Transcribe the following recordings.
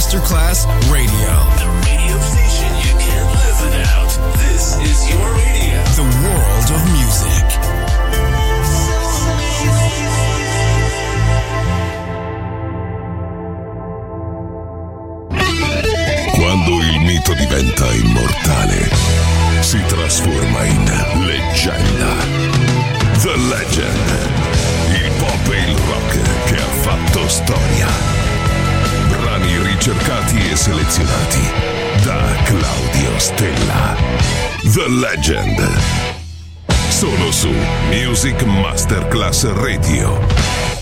Masterclass Radio. The radio station you can't live without. This is your radio. The world of music. Quando il mito diventa immortale, si trasforma in leggenda. The Legend. Il pop e il rock che ha fatto storia. Brani ricercati e selezionati da Claudio Stella. The Legend. Solo su Music Masterclass Radio.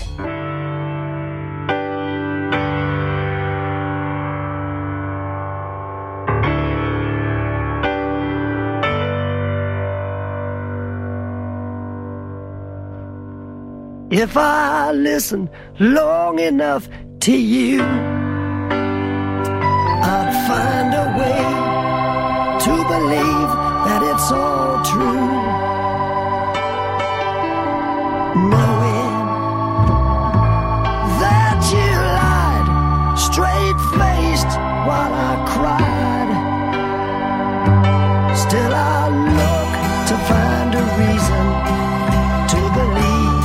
If I listen long enough to you, I'd find a way to believe that it's all true. Knowing that you lied straight-faced while I cried, still I look to find a reason to believe.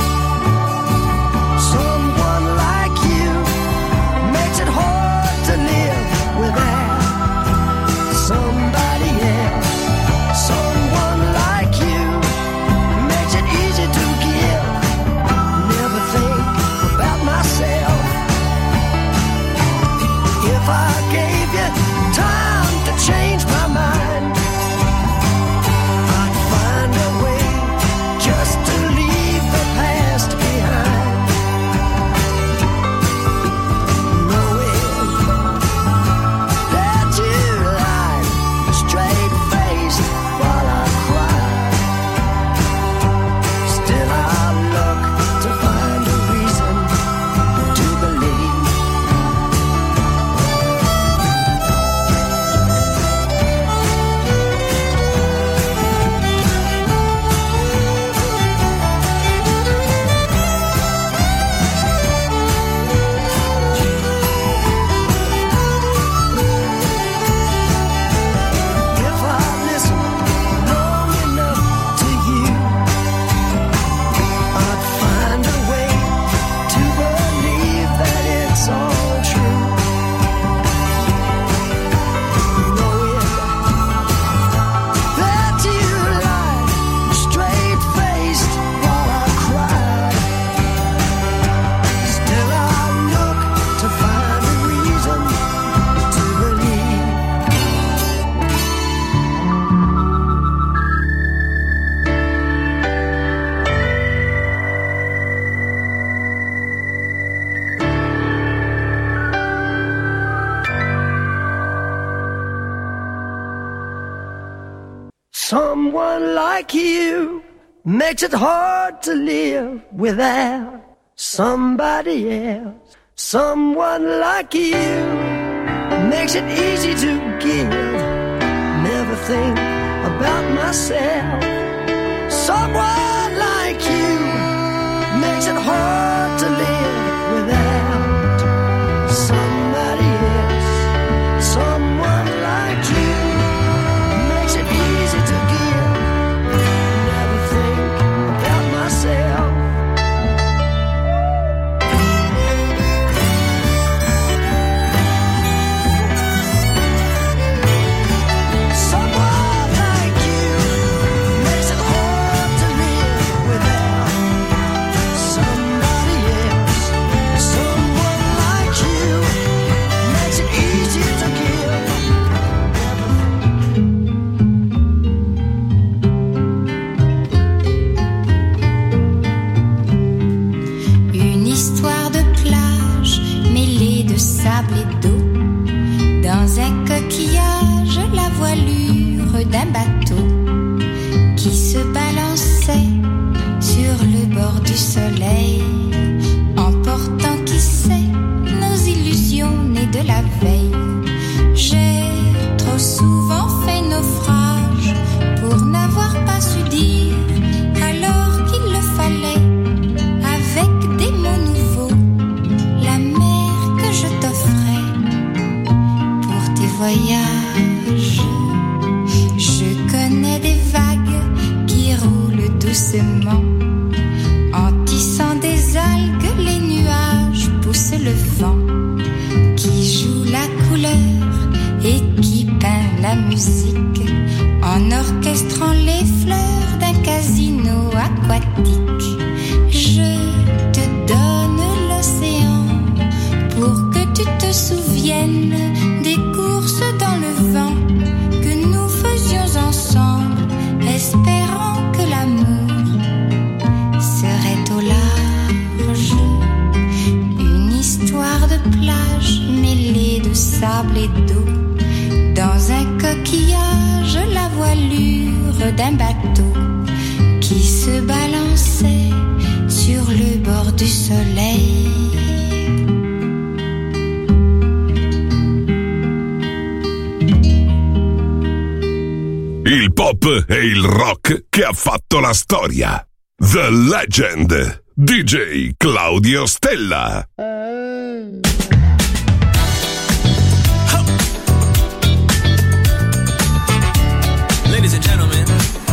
Someone like you makes it hard to live without somebody else. Someone like you makes it easy to give. Never think about myself. Someone like you makes it hard to live without somebody else. Someone like you makes it easy to give. Never think about myself. Someone like you makes it hard to live without somebody else. Someone like you makes it easy to give. Une histoire de plage mêlée de sable et d'eau. Dans un coquillage, la voilure d'un bateau qui se balançait sur le bord du soleil, emportant qui sait nos illusions nées de la veille. J'ai trop souvent fait naufrage pour n'avoir pas su dire alors qu'il le fallait. Avec des mots nouveaux, la mer que je t'offrais la musique en orchestrant les fleurs d'un casino aquatique. Je te donne l'océan pour que tu te souviennes des courses dans le vent que nous faisions ensemble, espérant que l'amour serait au large. Une histoire de plage mêlée de sable et d'eau, dans un coquillage la voilure d'un bateau qui se balançait sur le bord du soleil. Il pop e il rock che ha fatto la storia. The Legend, DJ Claudio Stella. Ladies and gentlemen,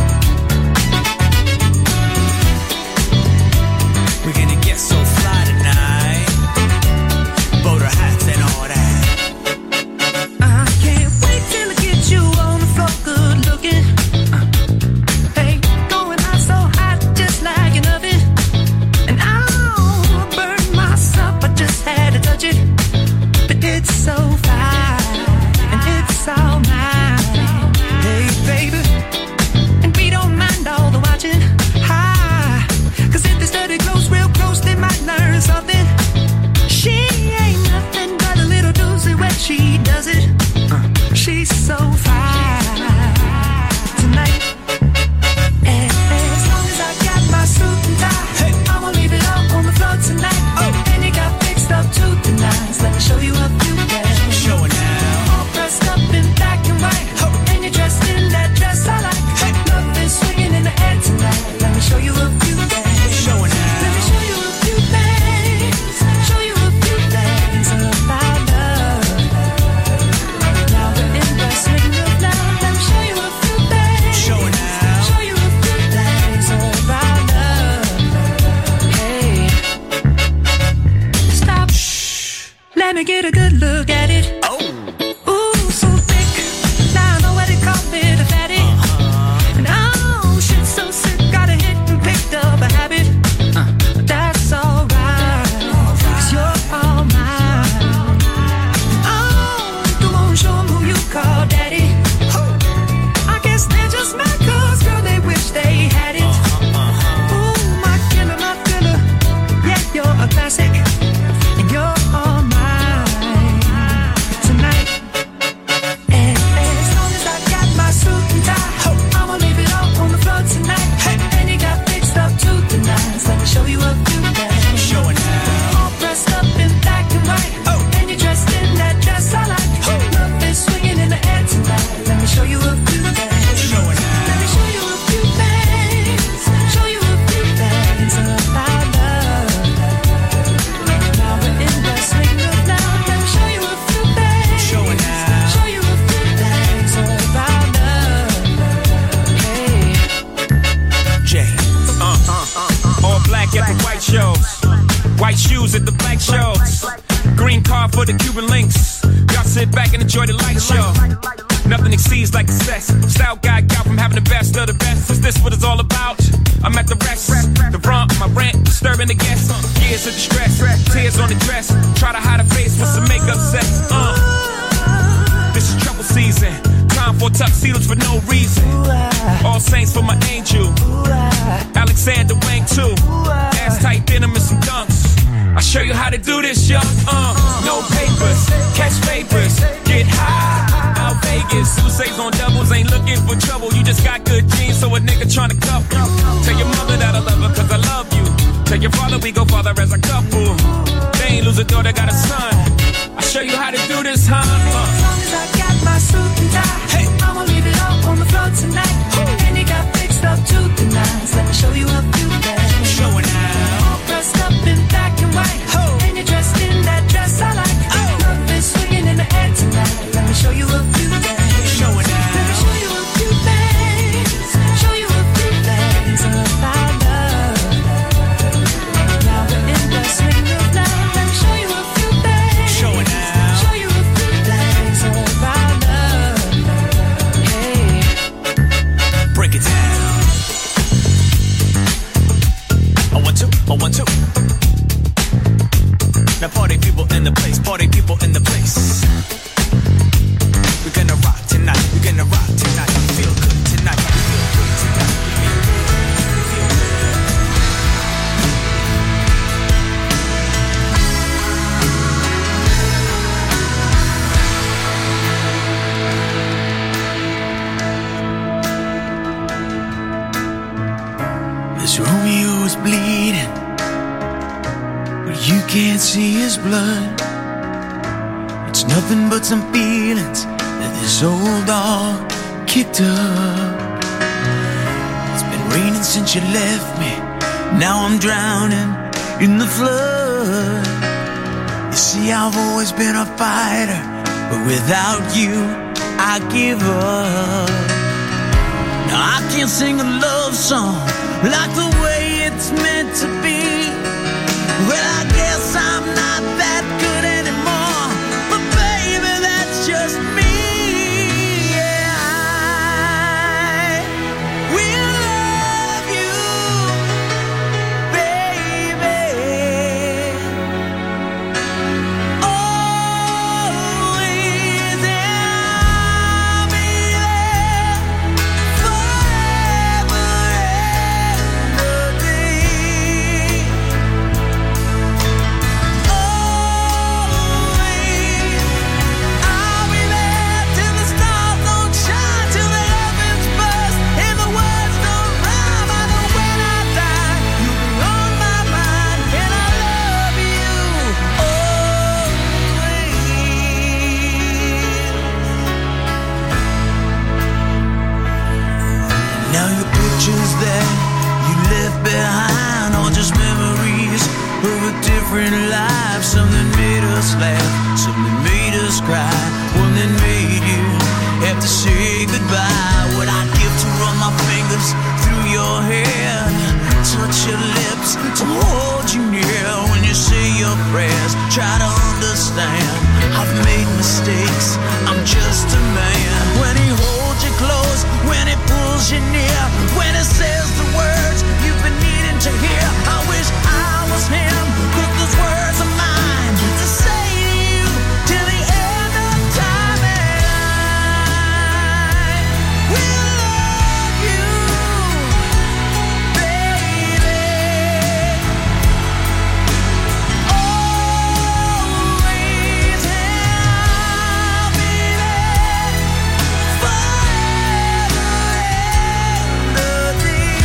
we're gonna get so fly tonight. Boater hats and all that. I can't wait till I get you on the floor, good looking. Hey, going out so hot, just like an oven. And I'll burn myself, I just had to touch it. But it's so fine, and it's all mine. Hey, baby, and we don't mind all the watching. Hi, 'cause if they study close, real close, they might learn something. She ain't nothing but a little doozy when she does it. She's so fine tonight. And as long as I got my suit and tie, I'ma leave it all on the floor tonight. And you got fixed up to the nines. Let me show you a few things. Show it now. All dressed up in black and white, and you're dressed in that dress I like. Love is swinging in the air tonight. Let me show you a few things. Show it now. Let me show you a few things. Show you a few things about love. Now we're in the swing of love. Let me show you a few things. Show it now. Show you a few things about love. Hey, stop. Let me get a good look at it. Ooh, so thick. Now I know what they call it, a fatty. And oh, shit, so sick. Got a hit and picked up a habit. That's alright, 'cause you're all mine. Oh, go on, show 'em who you call daddy. I guess they're just mad 'cause, girl, they wish they had it. Ooh, my killer, yeah, you're a classic. And you're all mine tonight. And as long as I got my suit and tie, I'ma leave it all on the floor tonight. And you got fixed up to the nines. Let me show you a few things. Show it now. All dressed up in black and white, and you're dressed in that dress I like. Love is swinging in the air tonight. Let me show you a few things. Show it now. Let me show you a few things. Show you a few things about love. Now we're in the swing of love. Let me show you a few things. Show it now. Show you a few things about love. Hey. Jay. All black at the white shows, white shoes at the black shows, green car for the Cuban links. Y'all sit back and enjoy the light show. Nothing exceeds like success. Style guy got from having the best of the best. Is this what it's all about? I'm at the rest, the rump, my rent, disturbing the guests. Years of distress, tears on the dress. Try to hide a face with some makeup sex. This is trouble season. Time for tuxedos for no reason. All saints for my angel. Alexander Wang too. Ass tight denim and some dunks. I'll show you how to do this, young. No papers, catch papers, get high. Out Vegas, Sousa's on doubles, ain't looking for trouble. You just got good genes, so a nigga tryna cuff you. Tell your mother that I love her, 'cause I love you. Tell your father we go father as a couple. They ain't lose a daughter, got a son. I'll show you how to do this, huh? As long as I got my suit and tie, I'ma leave it all on the floor tonight. And you got fixed up to the nines. Let me show you a few things. Show it now. All dressed up in black and white, and you're dressed in that dress I like. Love is swinging in the air tonight. Let me show you a few things. Show it now. Let me show you a few things. Show you a few things about love. Now we're in the swing of love. Let me show you a few things. Show it now. Show you a few things about love. Oh, 1, 2, oh, 1, 2. Now party people in the place, party people in the place. We're gonna rock tonight, we're gonna rock tonight. Feel good tonight, feel good tonight. This Romeo is bleeding, but you can't see his blood. It's nothing but some feelings that this old dog kicked up. It's been raining since you left me, now I'm drowning in the flood. You see, I've always been a fighter, but without you, I give up. Now I can't sing a love song like the way it's meant to be. Well, I guess I'm not that good anymore, but baby, that's just me. Yeah, I will love you, baby, always, and I'll be there forever and a day. Always, I'll be there till the stars don't shine, till the heavens burst and the words don't rhyme. I know when I die, you'll be on my mind, and I love you always. Now your pictures that you left behind are just memories of a different life. Something made us laugh, something made us cry, one that made you have to say goodbye. What I'd give to run my fingers through your hair, touch your lips, to hold you near when you say your prayers. Try to understand, I've made mistakes, I'm just a man. When he holds you close, when he pulls you near, when he says the words you've been needing to hear, I wish I was him, but those words are mine to say to you till the end of time. And I will love you, baby, always, and I'll be there forever and a day.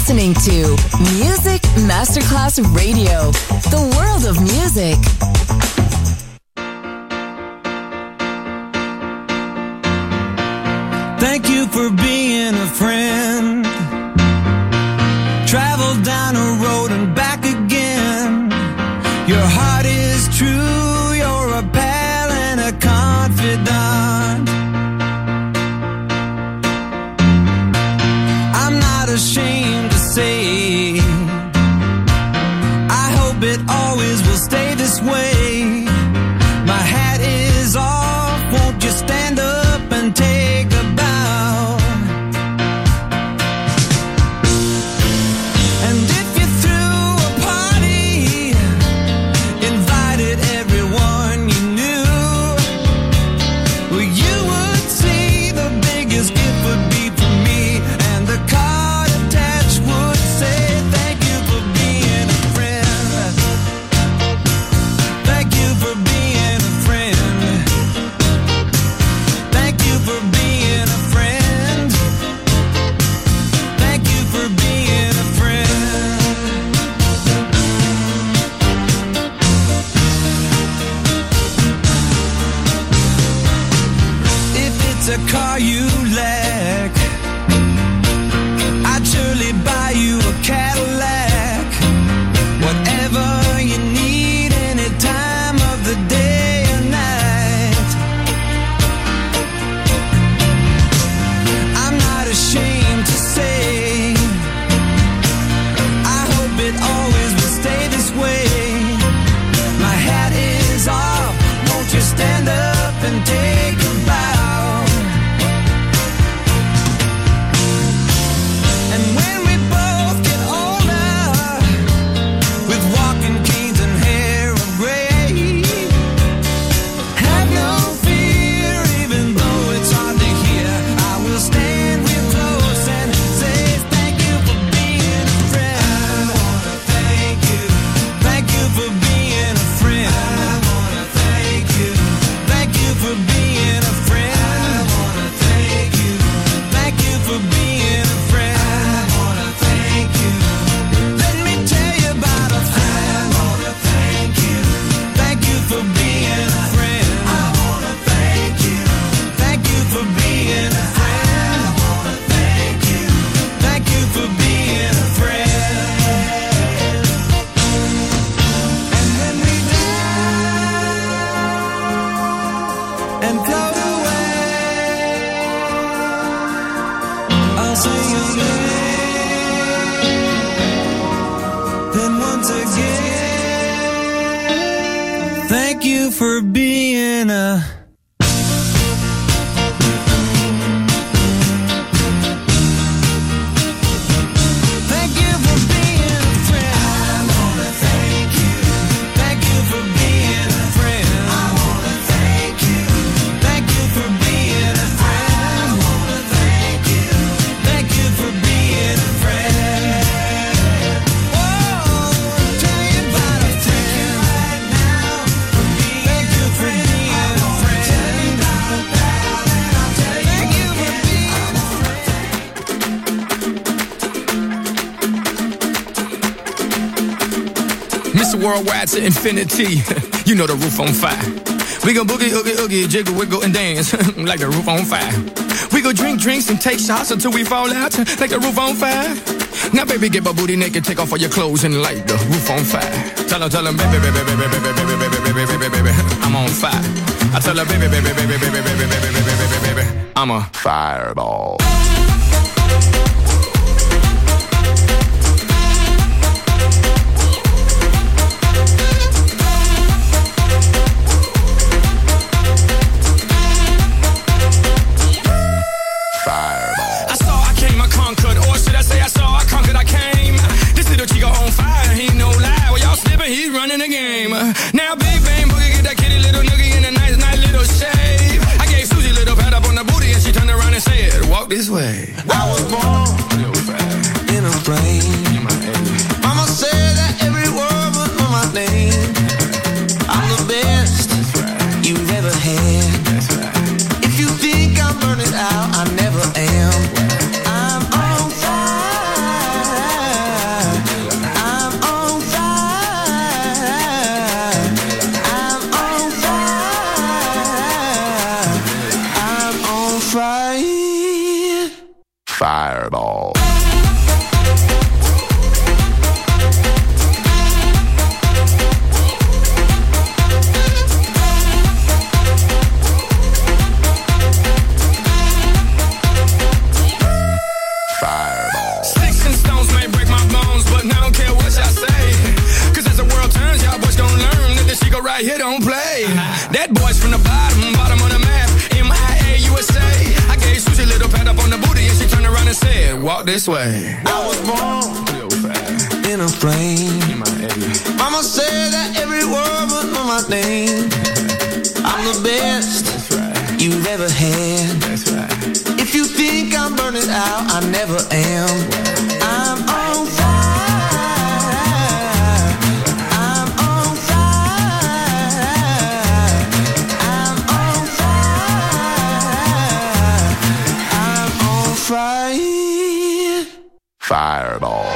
listening to Music Masterclass Radio, the world of music. Thank you for being a friend. Travel down a road and back again. Your heart is true, you're a pal and a confidant. I'm not ashamed to say, I hope it always will stay this way. My hat is off, won't you stand up and take a bow? And if you threw a party, invited everyone you knew, well, you would see the biggest gift would be for me, and the card attached would say, thank you for being a friend. Thank you for being a friend. Thank you for being a friend. Thank you for being a friend. If it's a car you lack, I'd surely buy you a Cadillac. Whatever you need, any time of the day or night. I'm not ashamed to say, I hope it always will stay this way. My hat is off, won't you stand up and take a bow? And when we both get older, with walking canes and hair of gray, have no fear, even though it's hard to hear. I will stand real close and say thank you for being a friend. I wanna thank you. Thank you for being a friend. I wanna thank you. Thank you for being a friend. I wanna thank you. Thank you for being a friend. I wanna thank you. Let me tell you about a friend. I wanna thank you. Thank you for being a friend. I wanna thank you. Thank you for being a friend. I wanna thank you. Thank you for being a friend. And when we die and float away, I'll say your name. Then once again, thank you for being a. Thank you for being a friend. I wanna thank you. Thank you for being a friend. I wanna thank you. Thank you for being a friend. I wanna thank you. Thank you for being a friend. Oh, tell you about a friend right now. Thank you for being a friend. Thank you for being a Mr. Worldwide to infinity. You know the roof on fire. We gon' boogie, oogie, oogie, jiggle, wiggle, and dance like the roof on fire. We go drink drinks and take shots until we fall out like the roof on fire. Now, baby, get my booty naked, take off all your clothes and light the roof on fire. Tell her, baby, baby, baby, baby, baby, baby, baby, baby, baby, I'm on fire. I tell her, baby, baby, baby, baby, baby, baby, baby, baby, baby, I'm a fireball. I saw, I came, I conquered, or should I say I saw, I conquered, I came. This little chico on fire, he no lie. Well, y'all slipping, he's running the game. Now, big bang boogie, get that kitty little noogie in a nice, nice little shave. I gave Susie a little pat up on the booty, and she turned around and said, walk this way. I was born this way. I was born in a flame. Mama said that every word would know my name. I'm the best you've ever had. That's right. If you think I'm burning out, I never am. I'm on fire. I'm on fire. I'm on fire. I'm on fire. Fireball.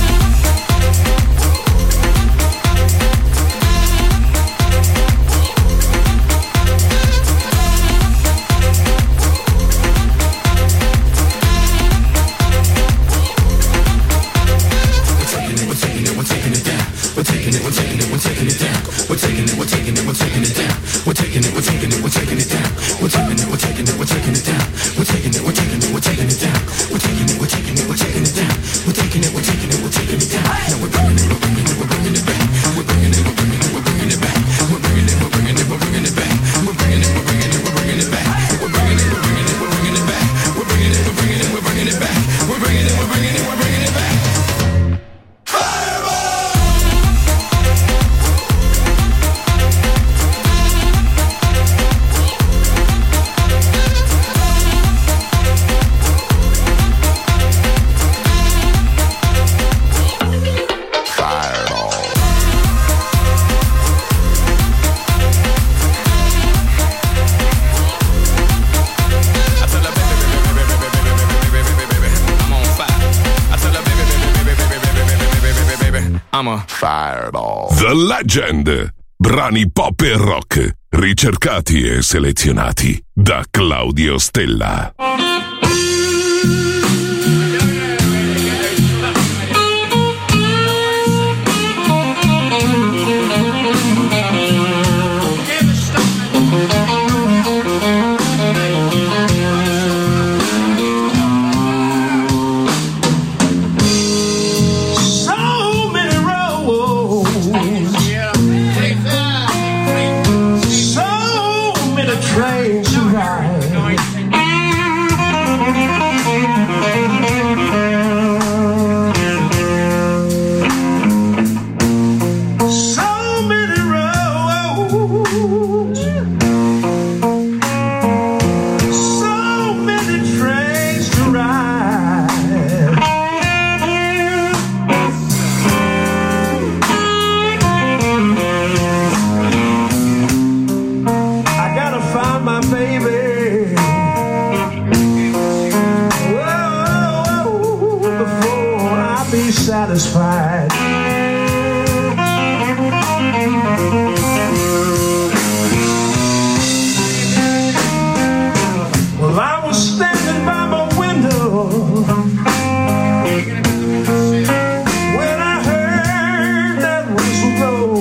Fireball. The Legend. Brani pop e rock, ricercati e selezionati da Claudio Stella. Satisfied. Well, I was standing by my window when I heard that whistle blow.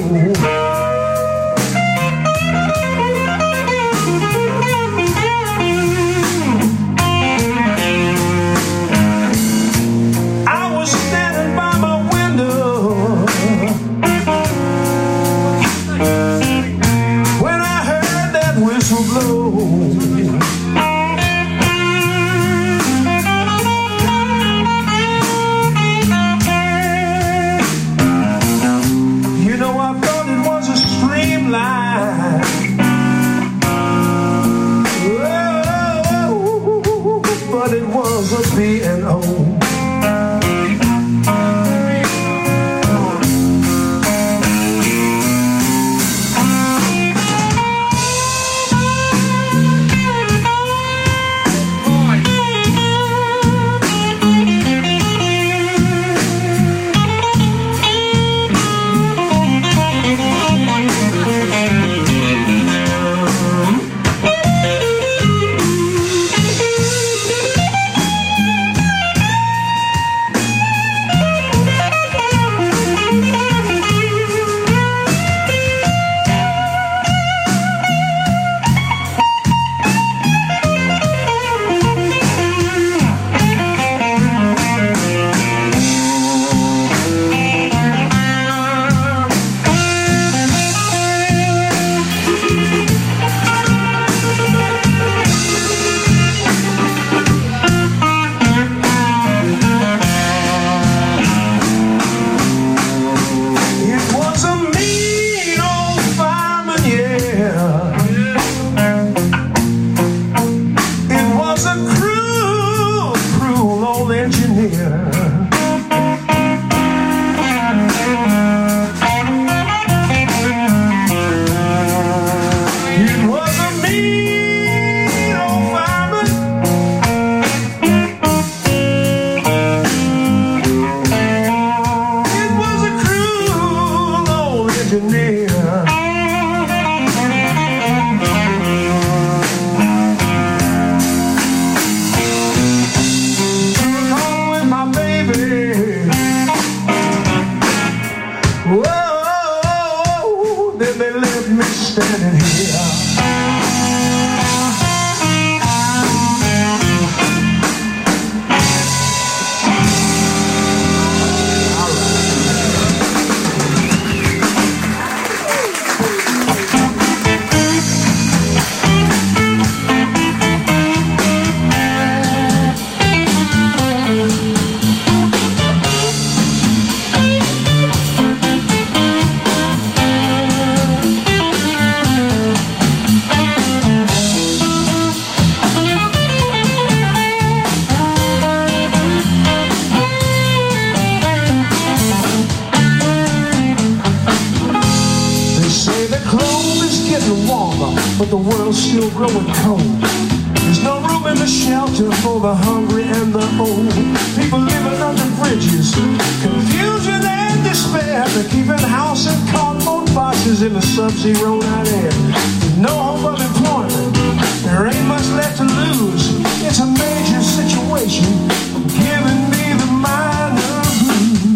soil's still growing cold. There's no room in the shelter for the hungry and the old. People living under bridges, confusion and despair. They're keeping house in cardboard boxes in the sub-zero night air. No hope of employment, there ain't much left to lose. It's a major situation, giving me the minor blues.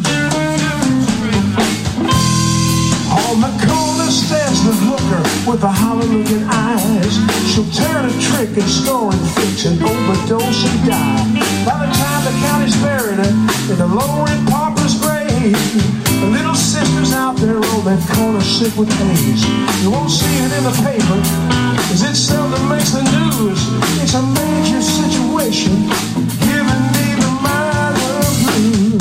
On the corner stands the hooker with the hollow-looking eyes. She'll turn a trick and score and fix and overdose and die. By the time the county's buried her in the low-rent pauper's grave, the little sister's out there on that corner sick with AIDS. You won't see it in the paper, cause it seldom makes the news. It's a major situation, giving me the minor blues.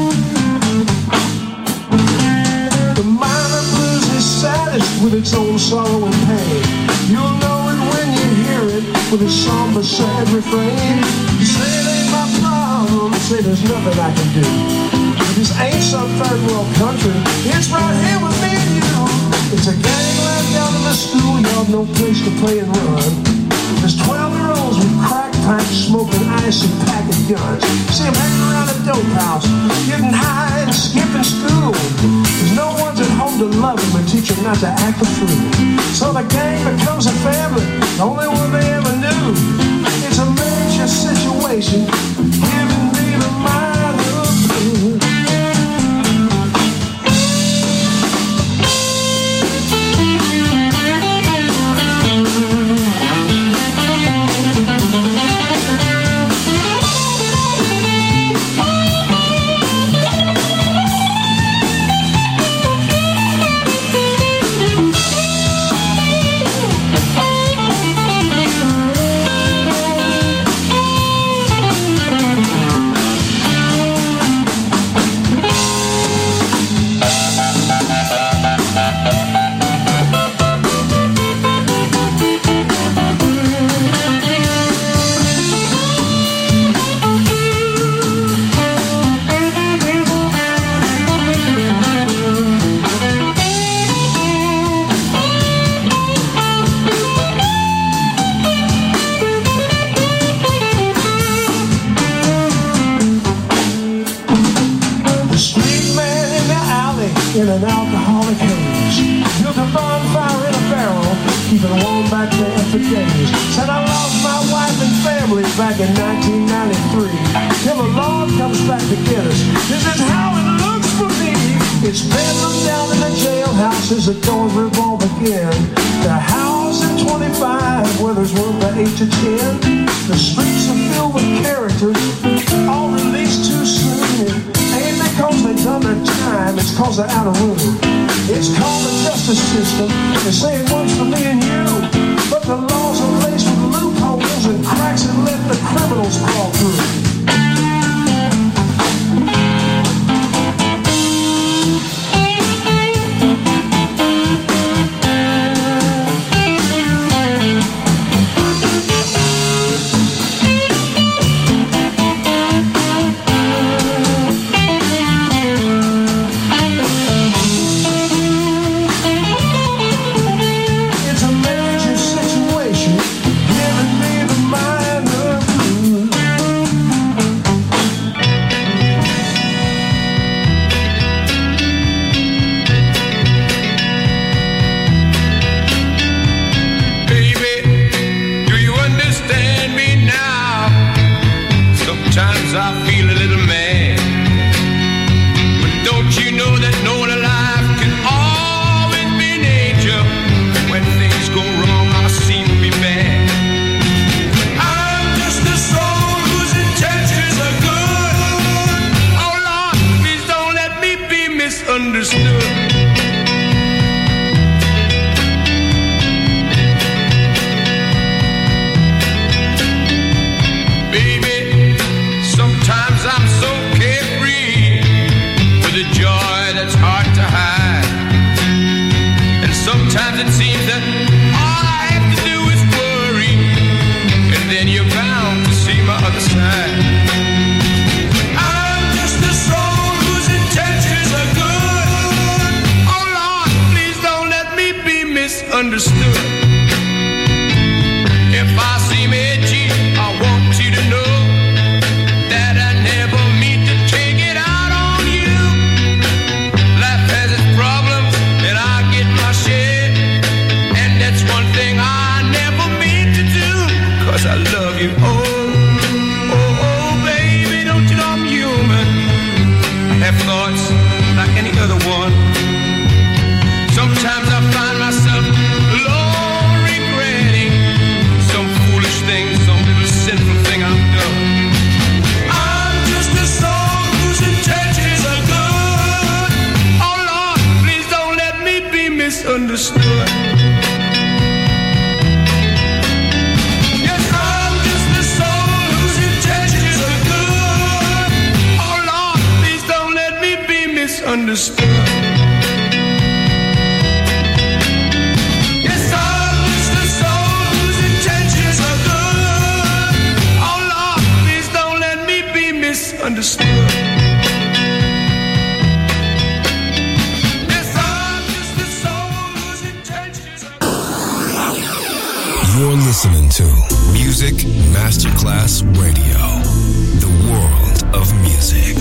The minor blues is saddest with its own sorrow and pain. You'll know it when you hear it with a somber, sad refrain. You say it ain't my problem, say there's nothing I can do. This ain't some third world country, it's right here with me and you. It's a gangland down in the schoolyard, no place to play and run. There's 12-year-olds with crack pipes, smoking ice and packing guns. See them hanging around a dope house, getting high and skipping school. There's no one's at home to love them and teach them not to act a fool. So the gang becomes a family, the only one they ever knew. It's a major situation, giving me the minor blues. In an alcoholic haze, built a bonfire in a barrel, keeping warm back there for days. Said I lost my wife and family back in 1993. Till the Lord comes back to get us. This is how it looks for me. It's bedlam down in the jailhouse as the doors revolve again. The house at 25 where there's room for 8 to 10. The streets are filled with characters, all released too soon. Ain't because they done their time, it's cause they're out of room. It's called the justice system, they say it works for me and you. But the laws are laced with loopholes and cracks that let the criminals crawl through. Baby, sometimes I love you. Oh, baby, don't you know I'm human? I have thoughts like any other one. Sometimes I find myself alone, regretting some foolish thing, some little sinful thing I've done. I'm just a soul whose intentions are good. Oh Lord, please don't let me be misunderstood. Yes, I'm just a soul whose intentions are good. Oh Lord, please don't let me be misunderstood. Understood. Yes, I'm just a soul whose intentions are... You're listening to Music Masterclass Radio, the world of music.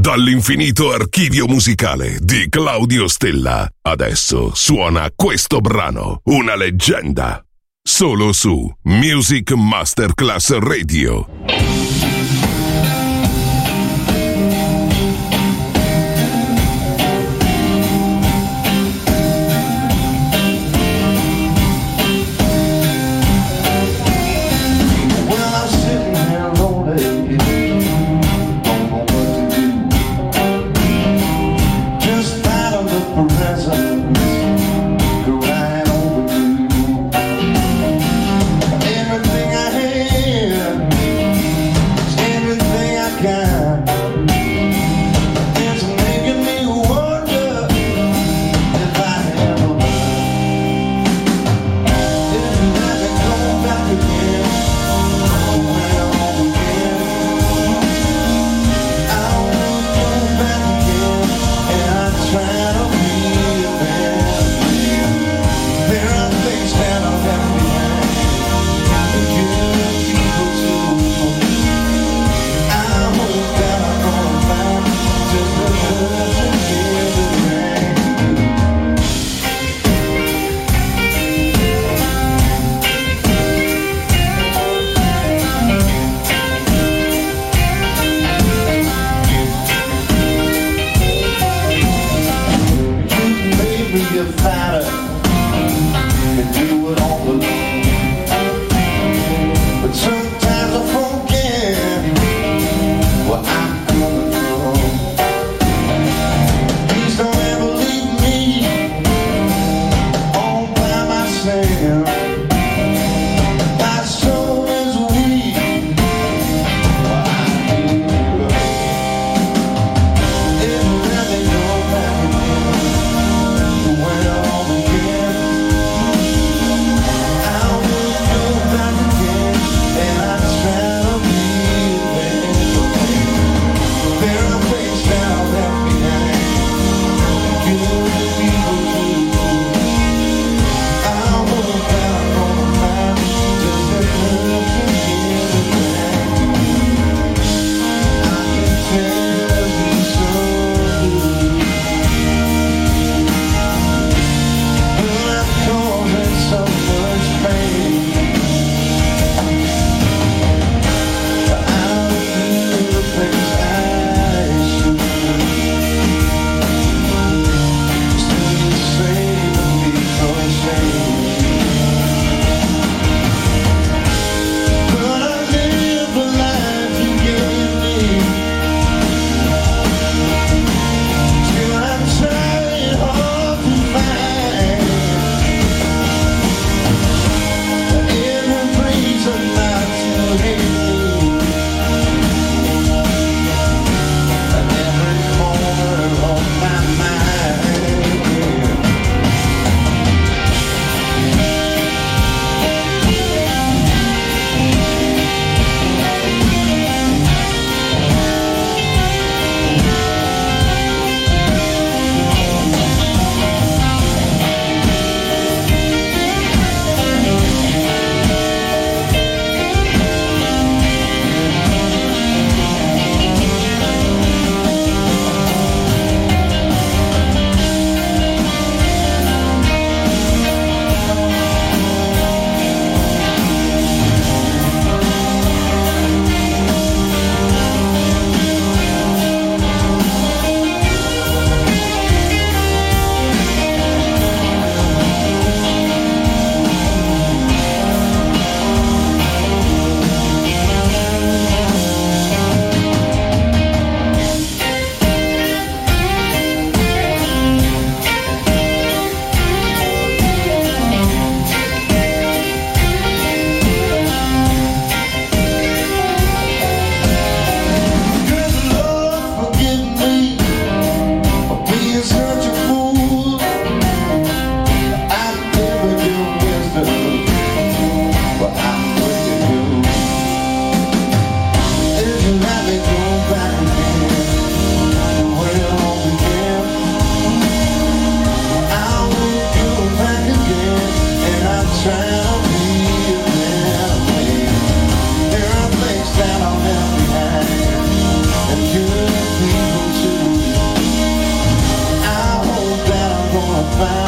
Dall'infinito archivio musicale di Claudio Stella, adesso suona questo brano, una leggenda, solo su Music Masterclass Radio. Well,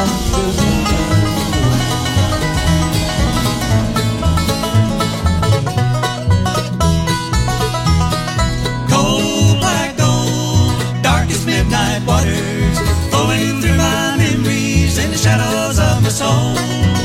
Cold black gold, darkest midnight waters, flowing through my memories in the shadows of my soul.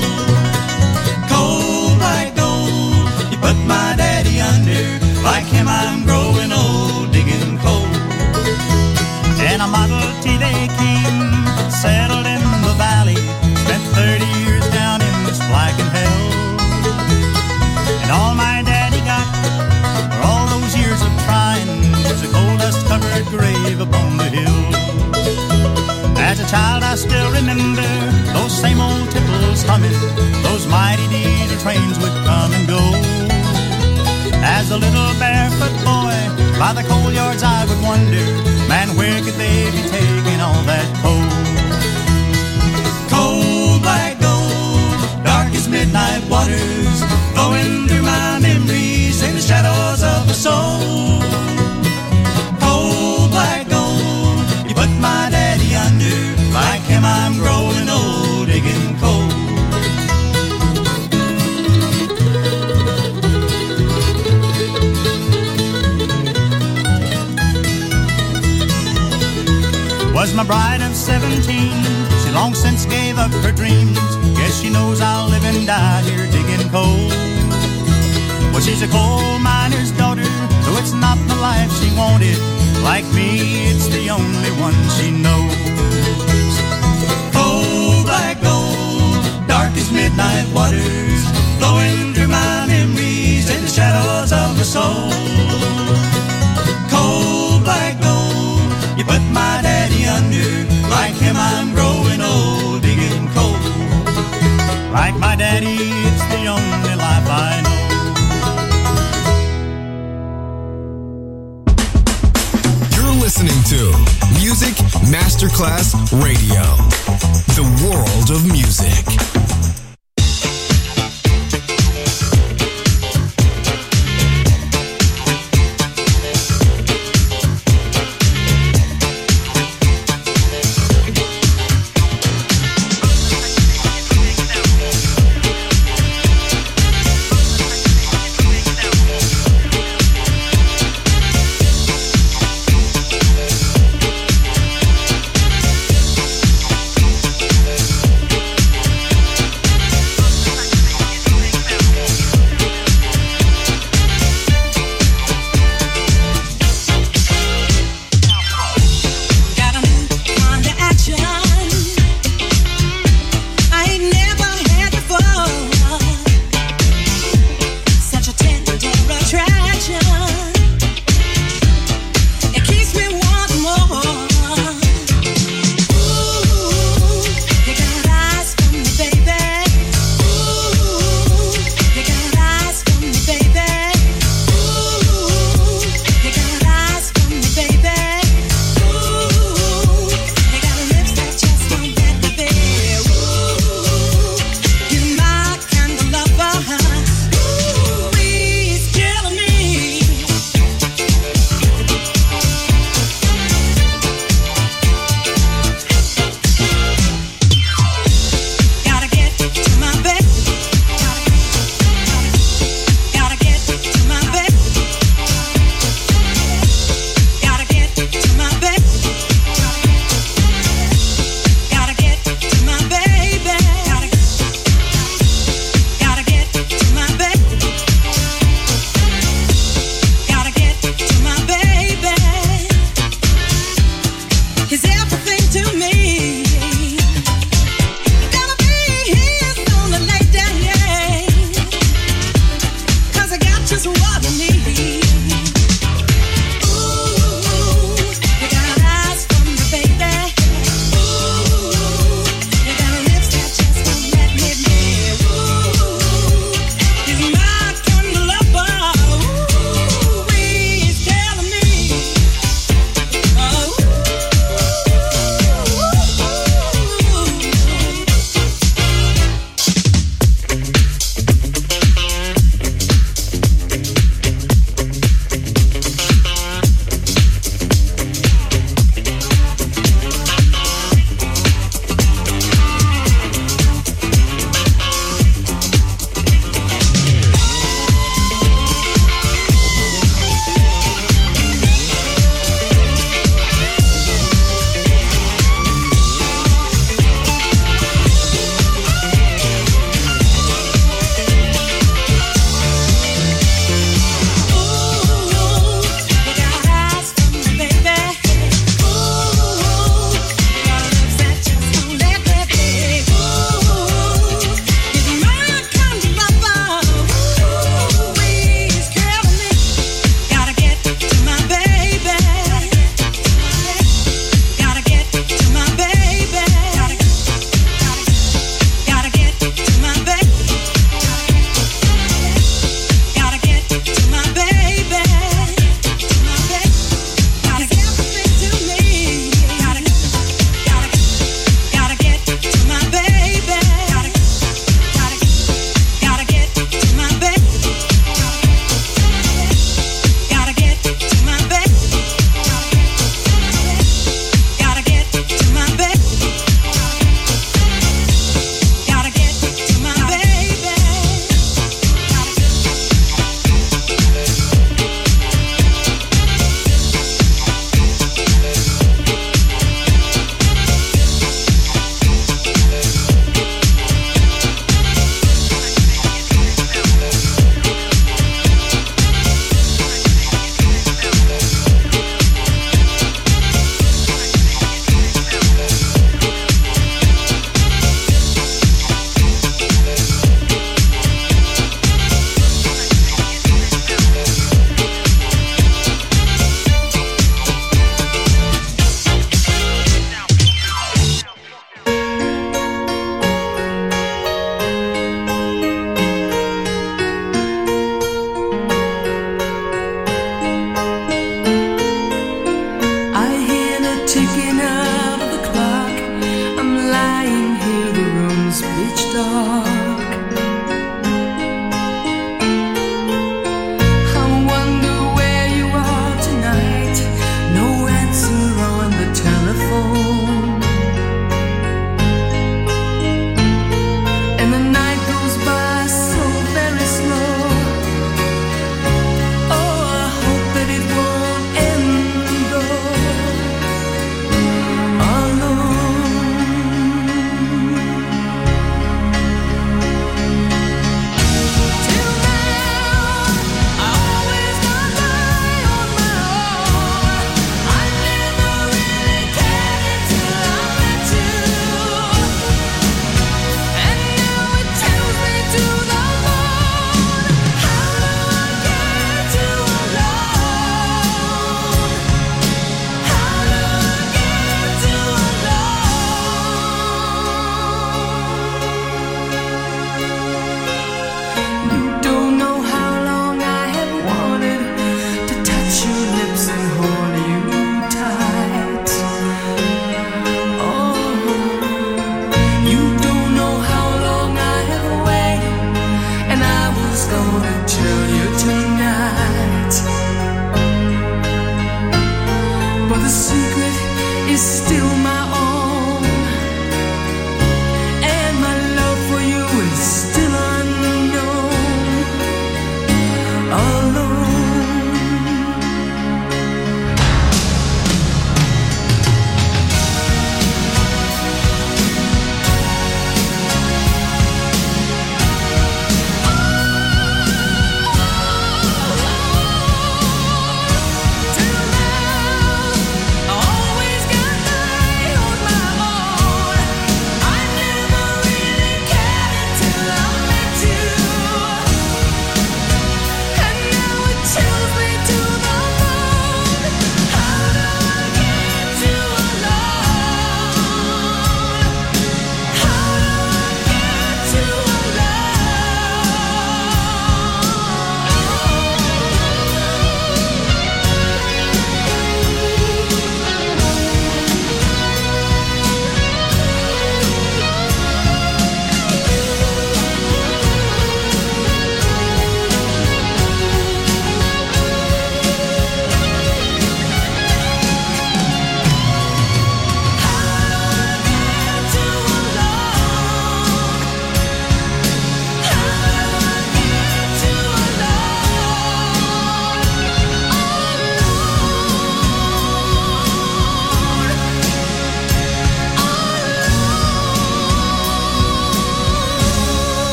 Cold black gold, you put my daddy under. Like him I'm growing old, digging coal. And a Model T they came, settled in the valley, spent 30 years down in this blackened hell. And all my daddy got for all those years of trying was a coal dust covered grave upon the hill. As a child I still remember those same old tipples humming, those mighty diesel trains would come and go. As a little barefoot boy, by the coal yards I would wonder, man, where could they be taking all that coal? Cold black gold, dark as midnight waters, flowing through my memories in the shadows of my soul. Cold black gold, you put my daddy under, like him I'm growing old, digging coal. Was my bride of 17, she long since gave up her dreams. Guess she knows I'll live and die here digging coal. Well, she's a coal miner's daughter, though it's not the life she wanted. Like me, it's the only one she knows. Coal black gold, dark as midnight waters, flowing through my memories in the shadows of my soul. Coal black gold, you put my daddy under, like him I'm growing old, digging coal. Like my daddy, it's the only life I know. You're listening to Music Masterclass Radio, the world of music.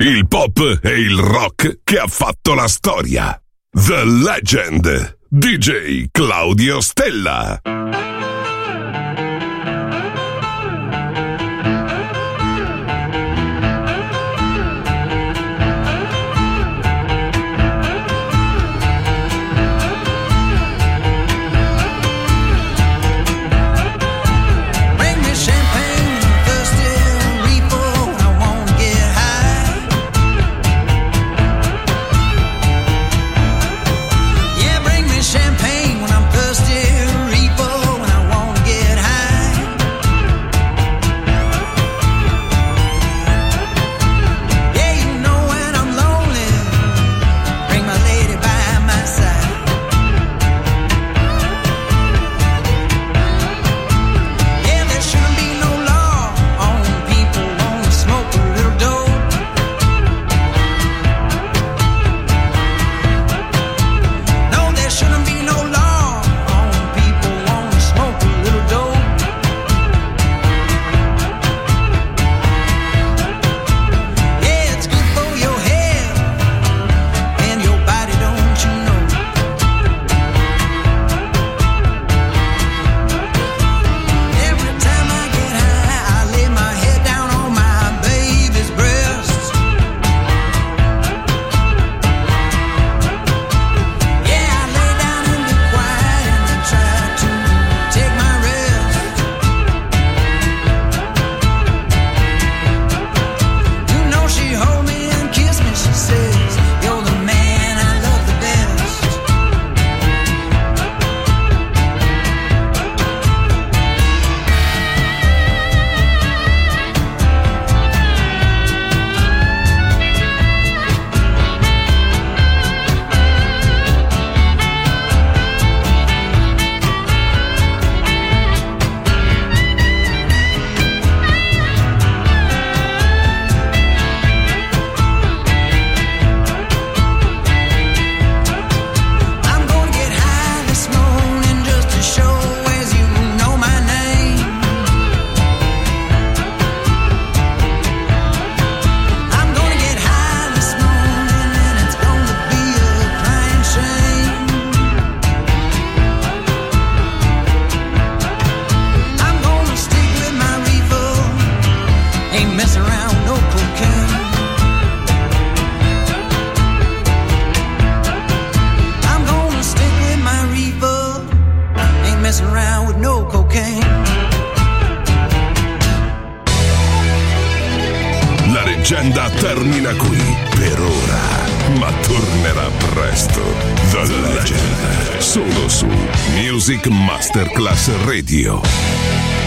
il pop e il rock che ha fatto la storia. The Legend, DJ Claudio Stella. Champagne when I'm thirsty, leggenda termina qui per ora, ma tornerà presto. The Legend, solo su Music Masterclass Radio.